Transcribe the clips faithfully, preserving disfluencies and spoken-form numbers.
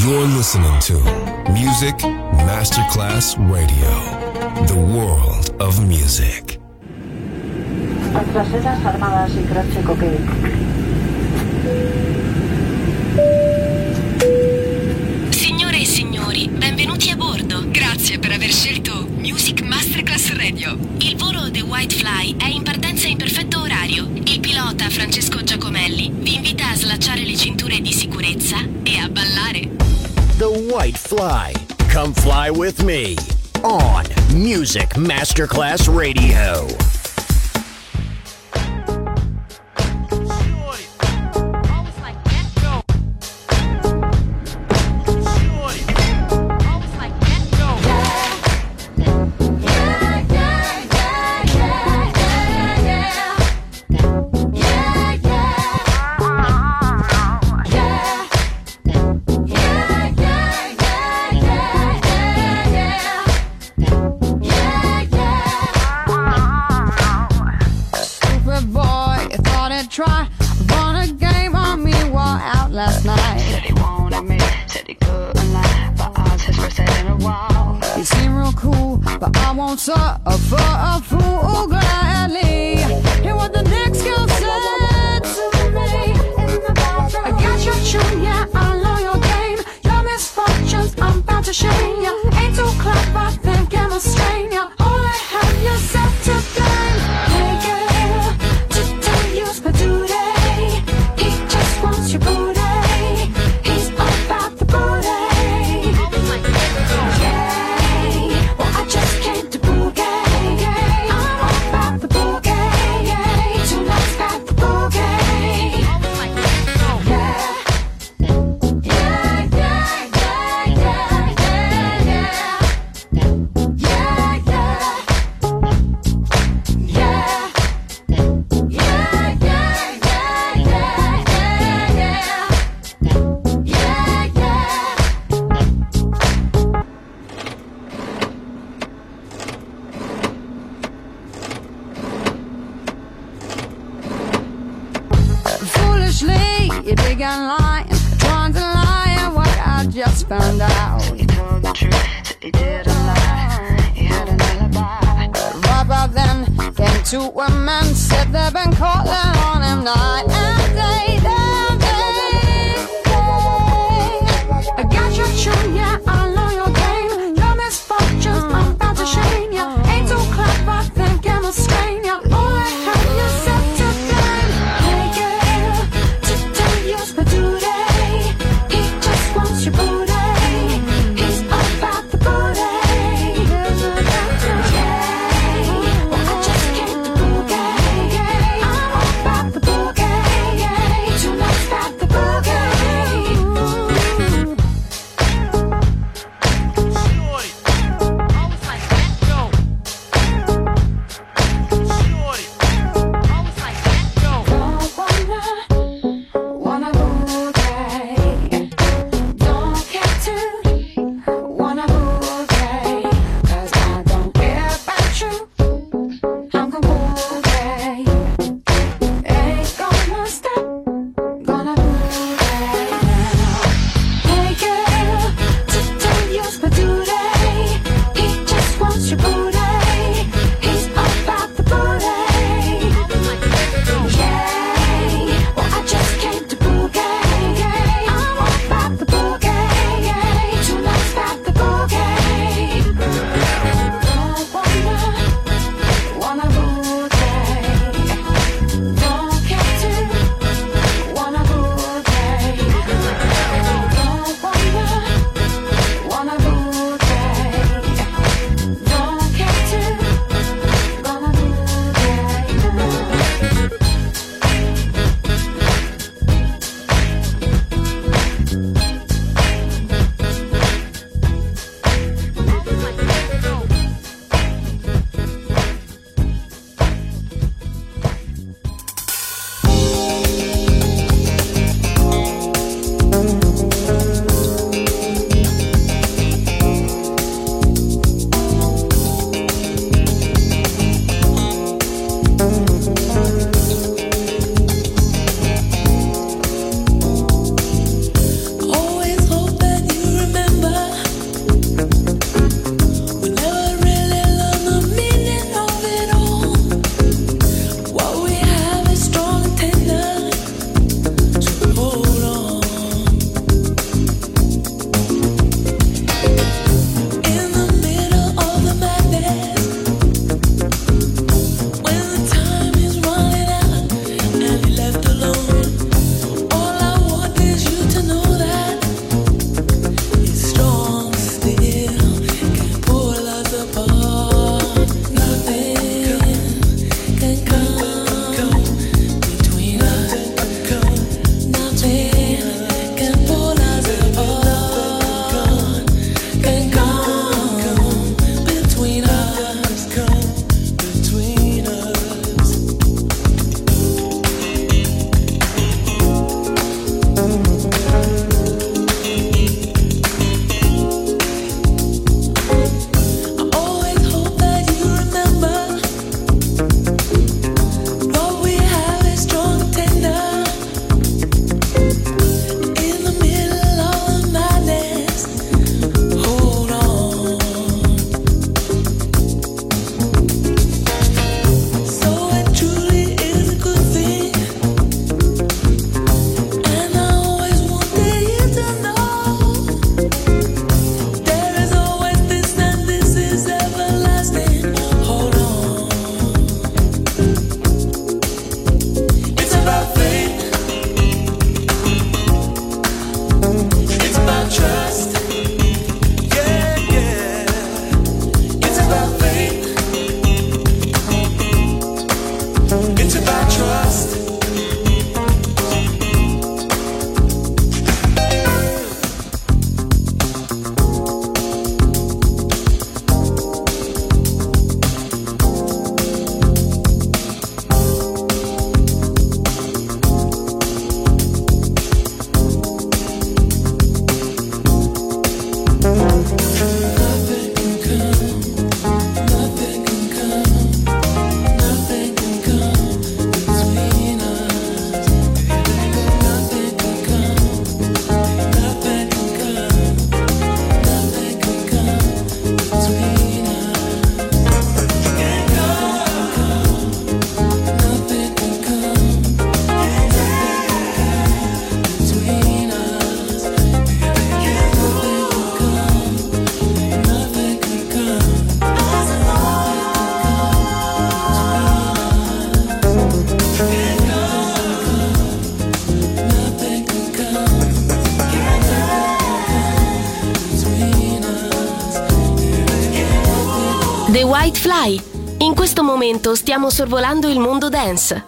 You're listening to Music Masterclass Radio, the world of music. Traseras armadas y crache coque. Signore e signori, benvenuti a bordo. Grazie per aver scelto Music Masterclass Radio. Il volo The White Fly è in partenza in perfetto orario. Il pilota Francesco Giacomelli vi invita a slacciare le cinture di sicurezza e a ballare. The White Fly. Come fly with me on Music Masterclass Radio. For a fool gladly. Hear what the next girl said to me. I got your tune, yeah, I know your game. Your misfortunes, I'm bound to shame ya. Ain't too clever, think I'm a strain ya. Only have yourself to blame. Hey girl, today you's my duty. He just wants your booty. He's all about the booty. Yeah, well I just came to boogie. Just found out he told the truth, that he didn't lie. He had an alibi. Right about then, came two women, said they've been calling on him night and day, day, day, day. I got your tune, yeah, I know your game. Your misfortunes, I'm about to shame ya. Ain't too clever, think I'm a strain ya. Only have yourself to blame. Hey girl, today you're my duty. Your booty, he's all about the booty. Yeah, well I just came to boogie. I'm all about the boogie. The White Fly. In questo momento stiamo sorvolando il mondo dance.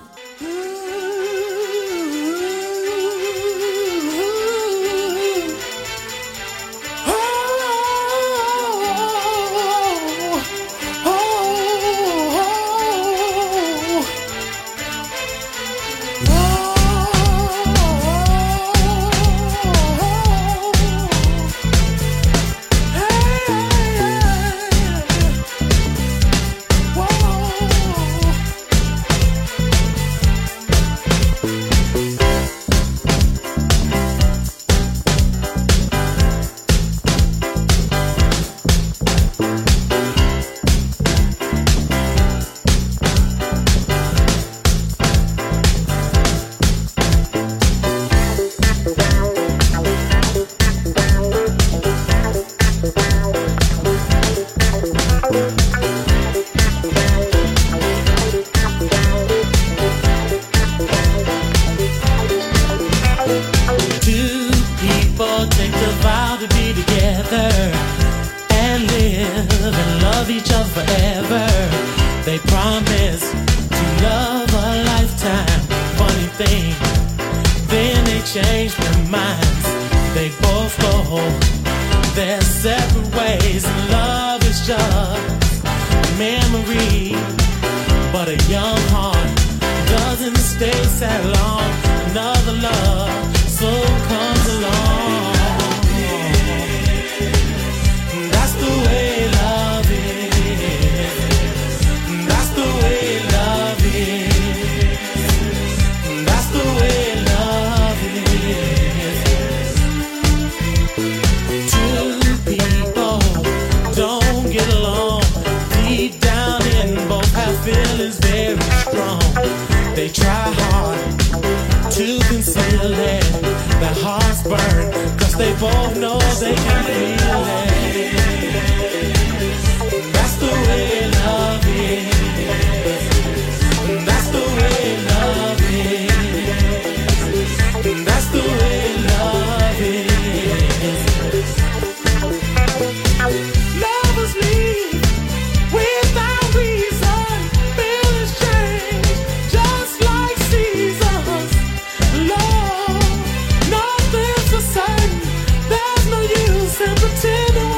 Pretend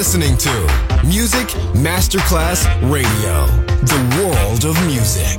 listening to Music Masterclass Radio, the world of music.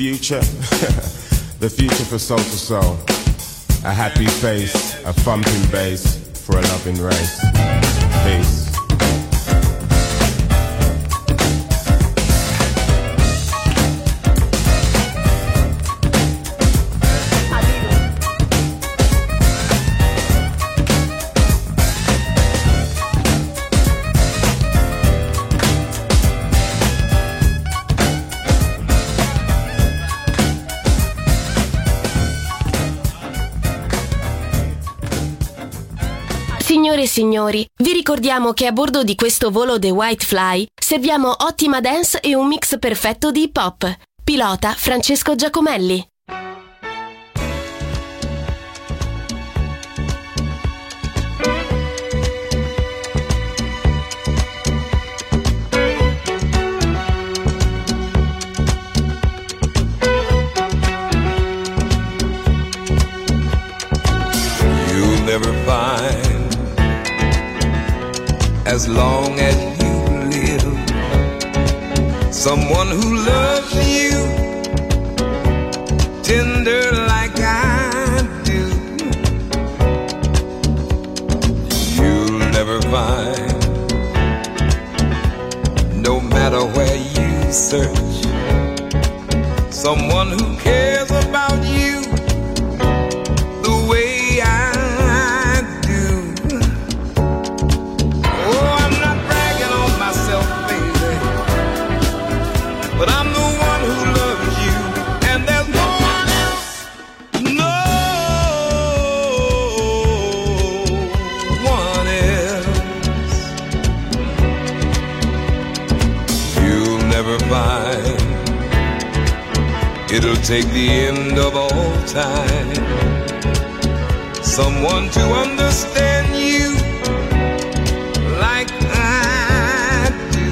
future, the future for soul to soul. A happy face, a thumping bass for a loving race. Peace. Signore e signori, vi ricordiamo che a bordo di questo volo The White Fly serviamo ottima dance e un mix perfetto di hip hop. Pilota Francesco Giacomelli. You'll never find, as long as you live, someone who loves you tender like I do. You'll never find, no matter where you search, someone who cares about you the way I but I'm the one who loves you, and there's no one else, no one else. You'll never find, it'll take the end of all time, someone to understand you like I do.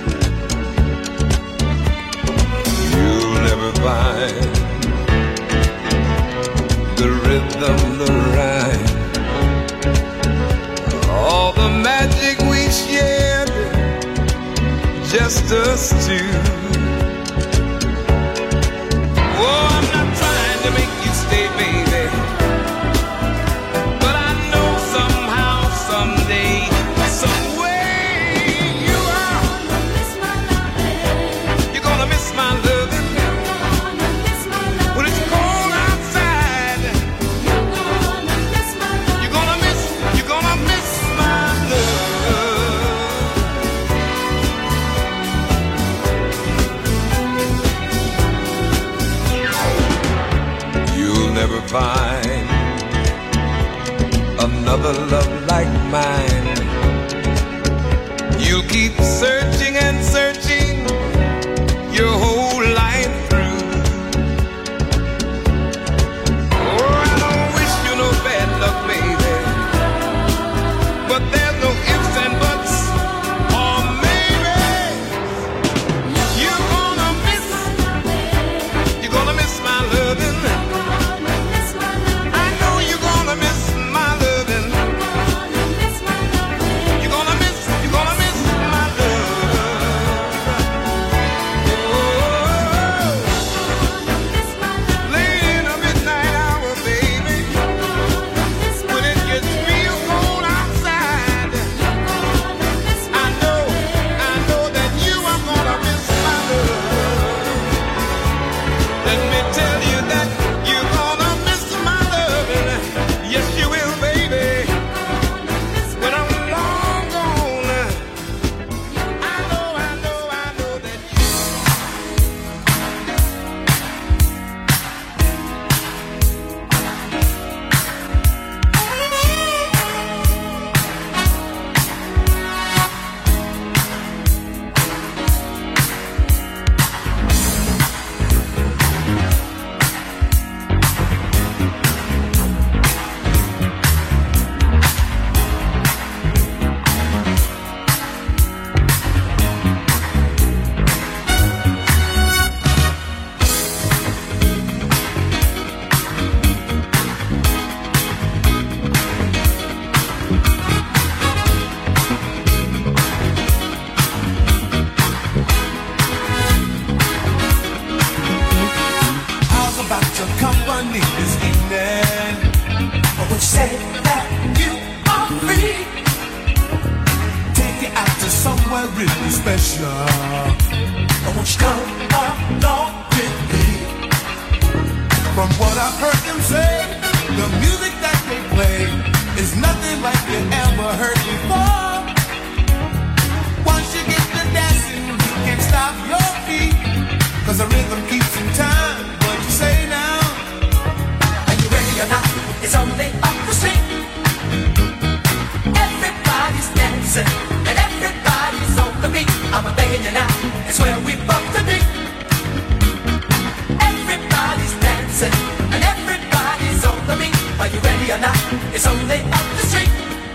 You'll never find the rhythm, the rhyme, all the magic we shared, just us two. Oh, I'm not trying to make you stay, baby, but I know somehow, someday, some way you are. You're gonna miss my loving when it's cold outside. You're gonna miss, you're gonna miss my love. You'll never find another love like mine. You'll keep searching and searching your whole life through. Oh, I don't wish you no bad luck, baby, but there's no ifs and buts, or maybe you're gonna miss, you're gonna miss my loving. I know you're gonna miss my loving. You're gonna miss, you're gonna miss my love. pleasure. Won't you come along with me? From what I've heard them say, the music that they play is nothing like you ever heard before. Once you get to dancing, you can't stop your feet, 'cause the rhythm keeps in time. What you say now? Are you ready or not? It's only up the street. Everybody's dancing and everybody's on the beat. I'm begging you now, it's where we both to be. Everybody's dancing and everybody's on the beat. Are you ready or not? It's only up the street.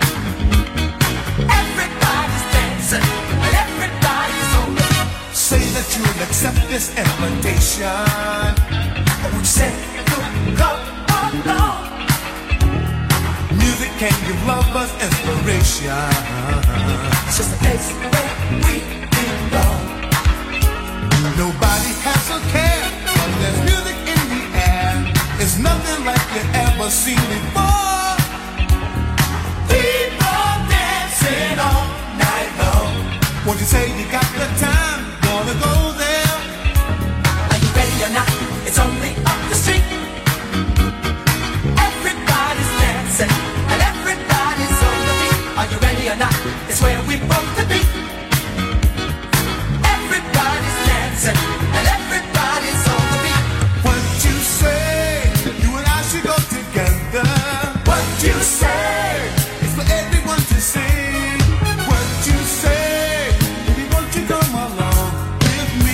Everybody's dancing and everybody's on the beat. Say that you'll accept this invitation. Or would you say you'll come along? Music can give lovers inspiration. It's just a place where we belong. Nobody has a care, but there's music in the air. It's nothing like you ever seen before. People dancing all night long. Won't you say you got the time? Gonna go there? Are you ready or not? It's only up the street. Everybody's dancing and everybody's on the beat. Are you ready or not? It's where we both to be. Everybody's dancing and everybody's on the beat. What you say? You and I should go together. What you say? It's for everyone to see. What you say? Baby, won't you come along with me?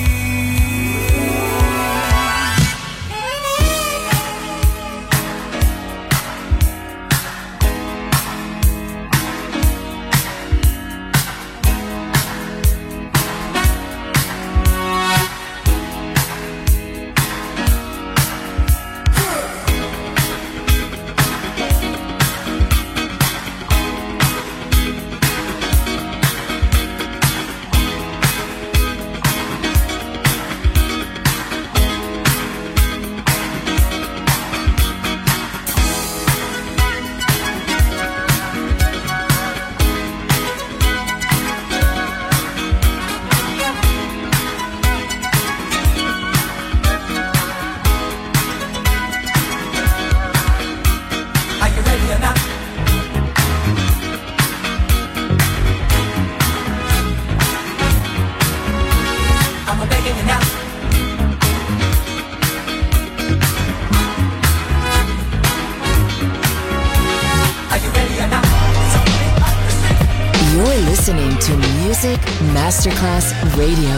Listening to Music Masterclass Radio.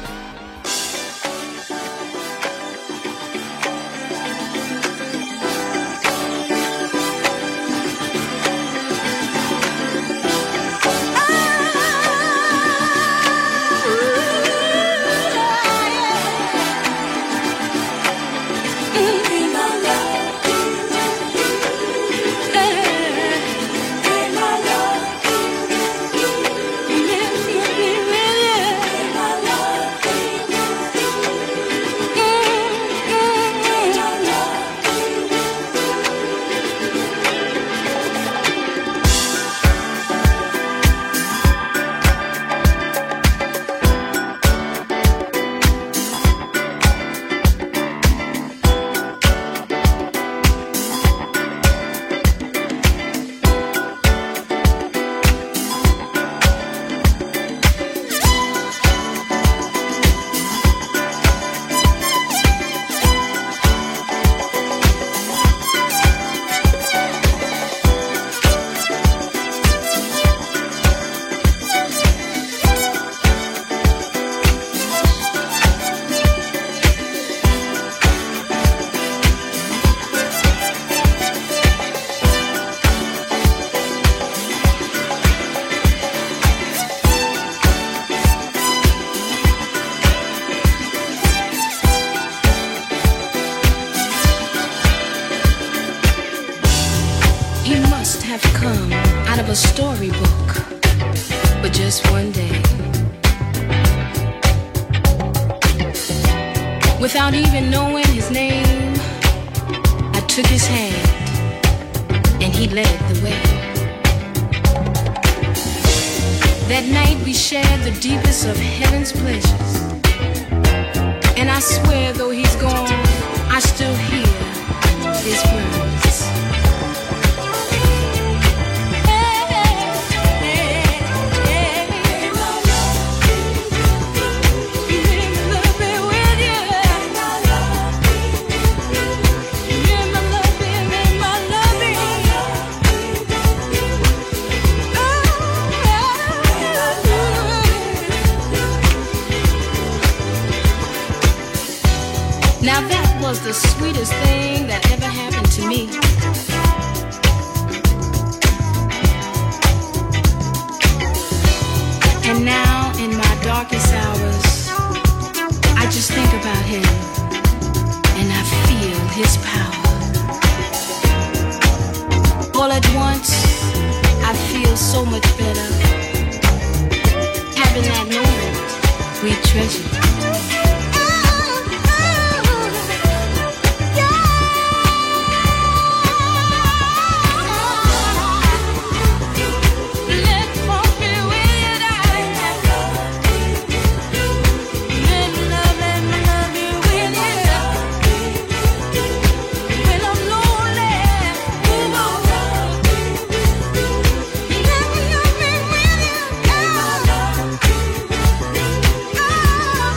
Without even knowing his name, I took his hand and he led the way. That night we shared the deepest of heaven's pleasures. And I swear though he's gone, I still hear his words. Now that was the sweetest thing that ever happened to me. And now in my darkest hours, I just think about him and I feel his power. All at once, I feel so much better having that moment we treasure. Oh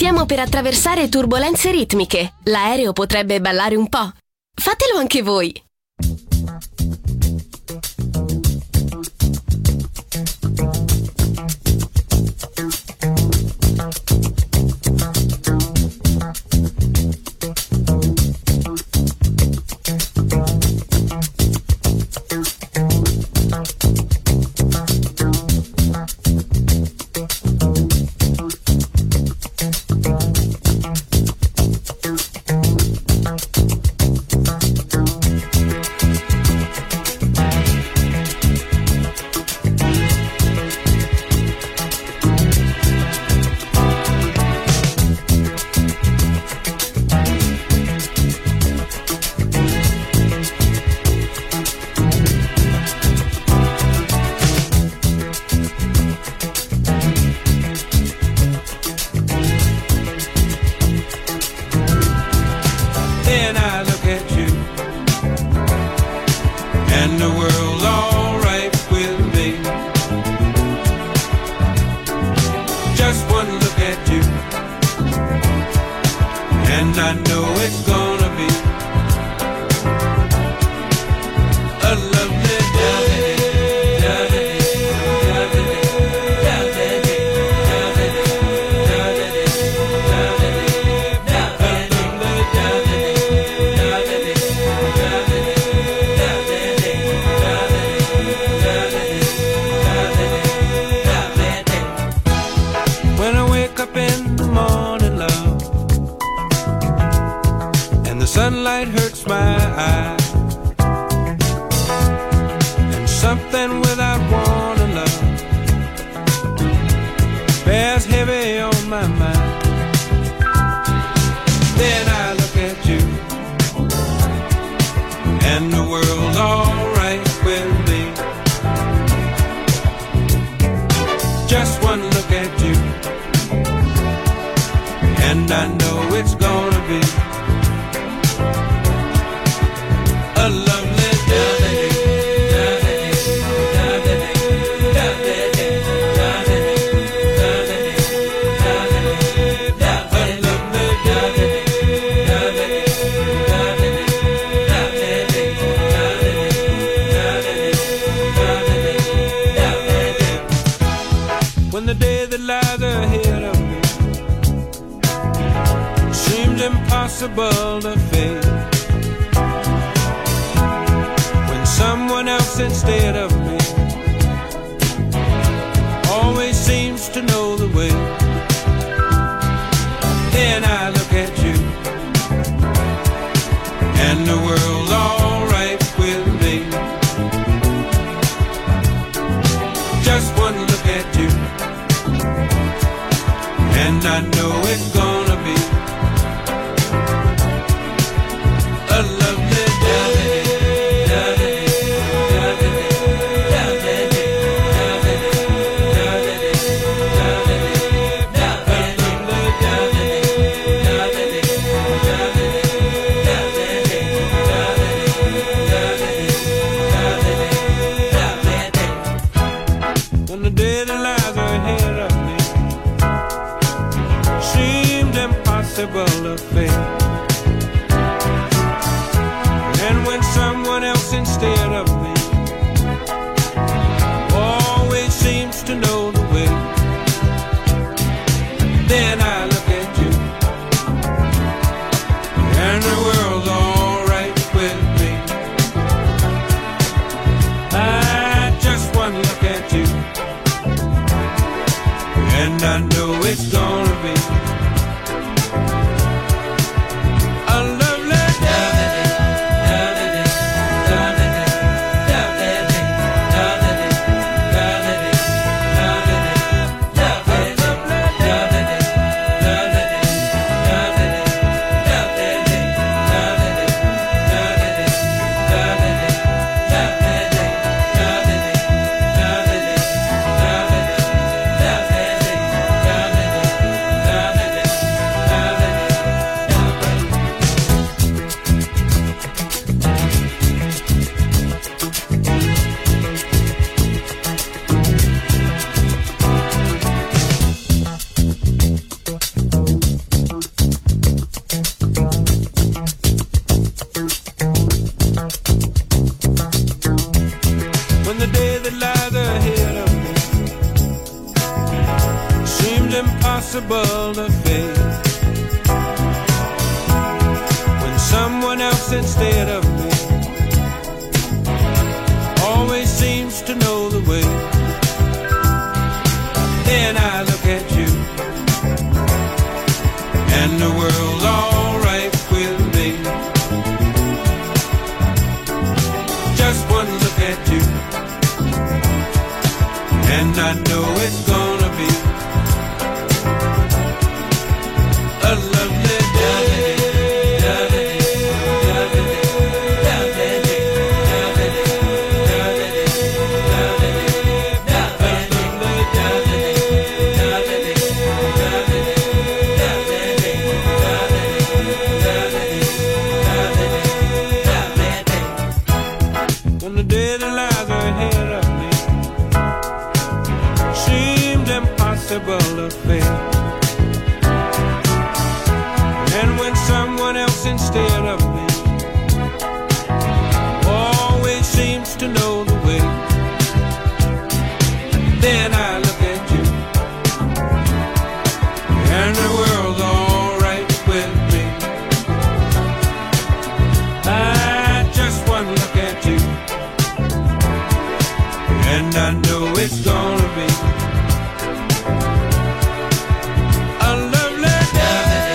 Stiamo per attraversare turbolenze ritmiche. L'aereo potrebbe ballare un po'. Fatelo anche voi. A lovely day. impossible to face. When someone else instead of me always seems to know the way, then I look at you and the world's alright with me. Just one look at you and I know it's gonna be a lovely day. When the day that lies ahead of me seems impossible to face, and when someone else instead of me always seems to know the way, then I look at you and the world's alright with me. I just one look at you and I know it's gonna be a lovely day.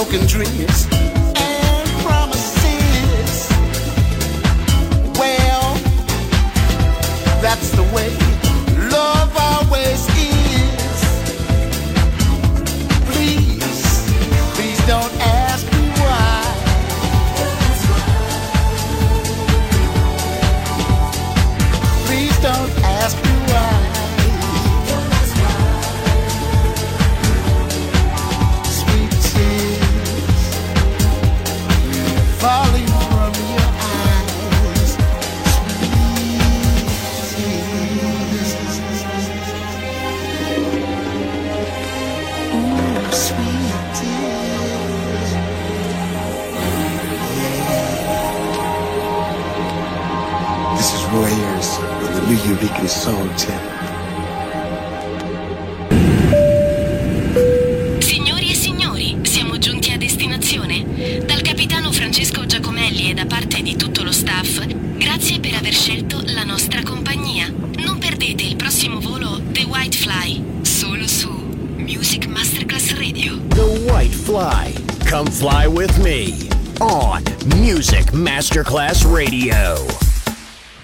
broken dreams and promises. Well, that's the way love always is. Please, please don't ask me why. Please don't ask me why. Sweet tears falling from your eyes. Ooh, sweet tears. This is Roy Ayers with the New Eureka Soul Tip. Signori e signori, siamo giunti a destinazione. Dal capitano Francesco Giacomelli e da parte di tutto lo staff, grazie per aver scelto la nostra compagnia. Non perdete il prossimo volo The White Fly, solo su Music Masterclass Radio. The White Fly. Come fly with me on Music Masterclass Radio.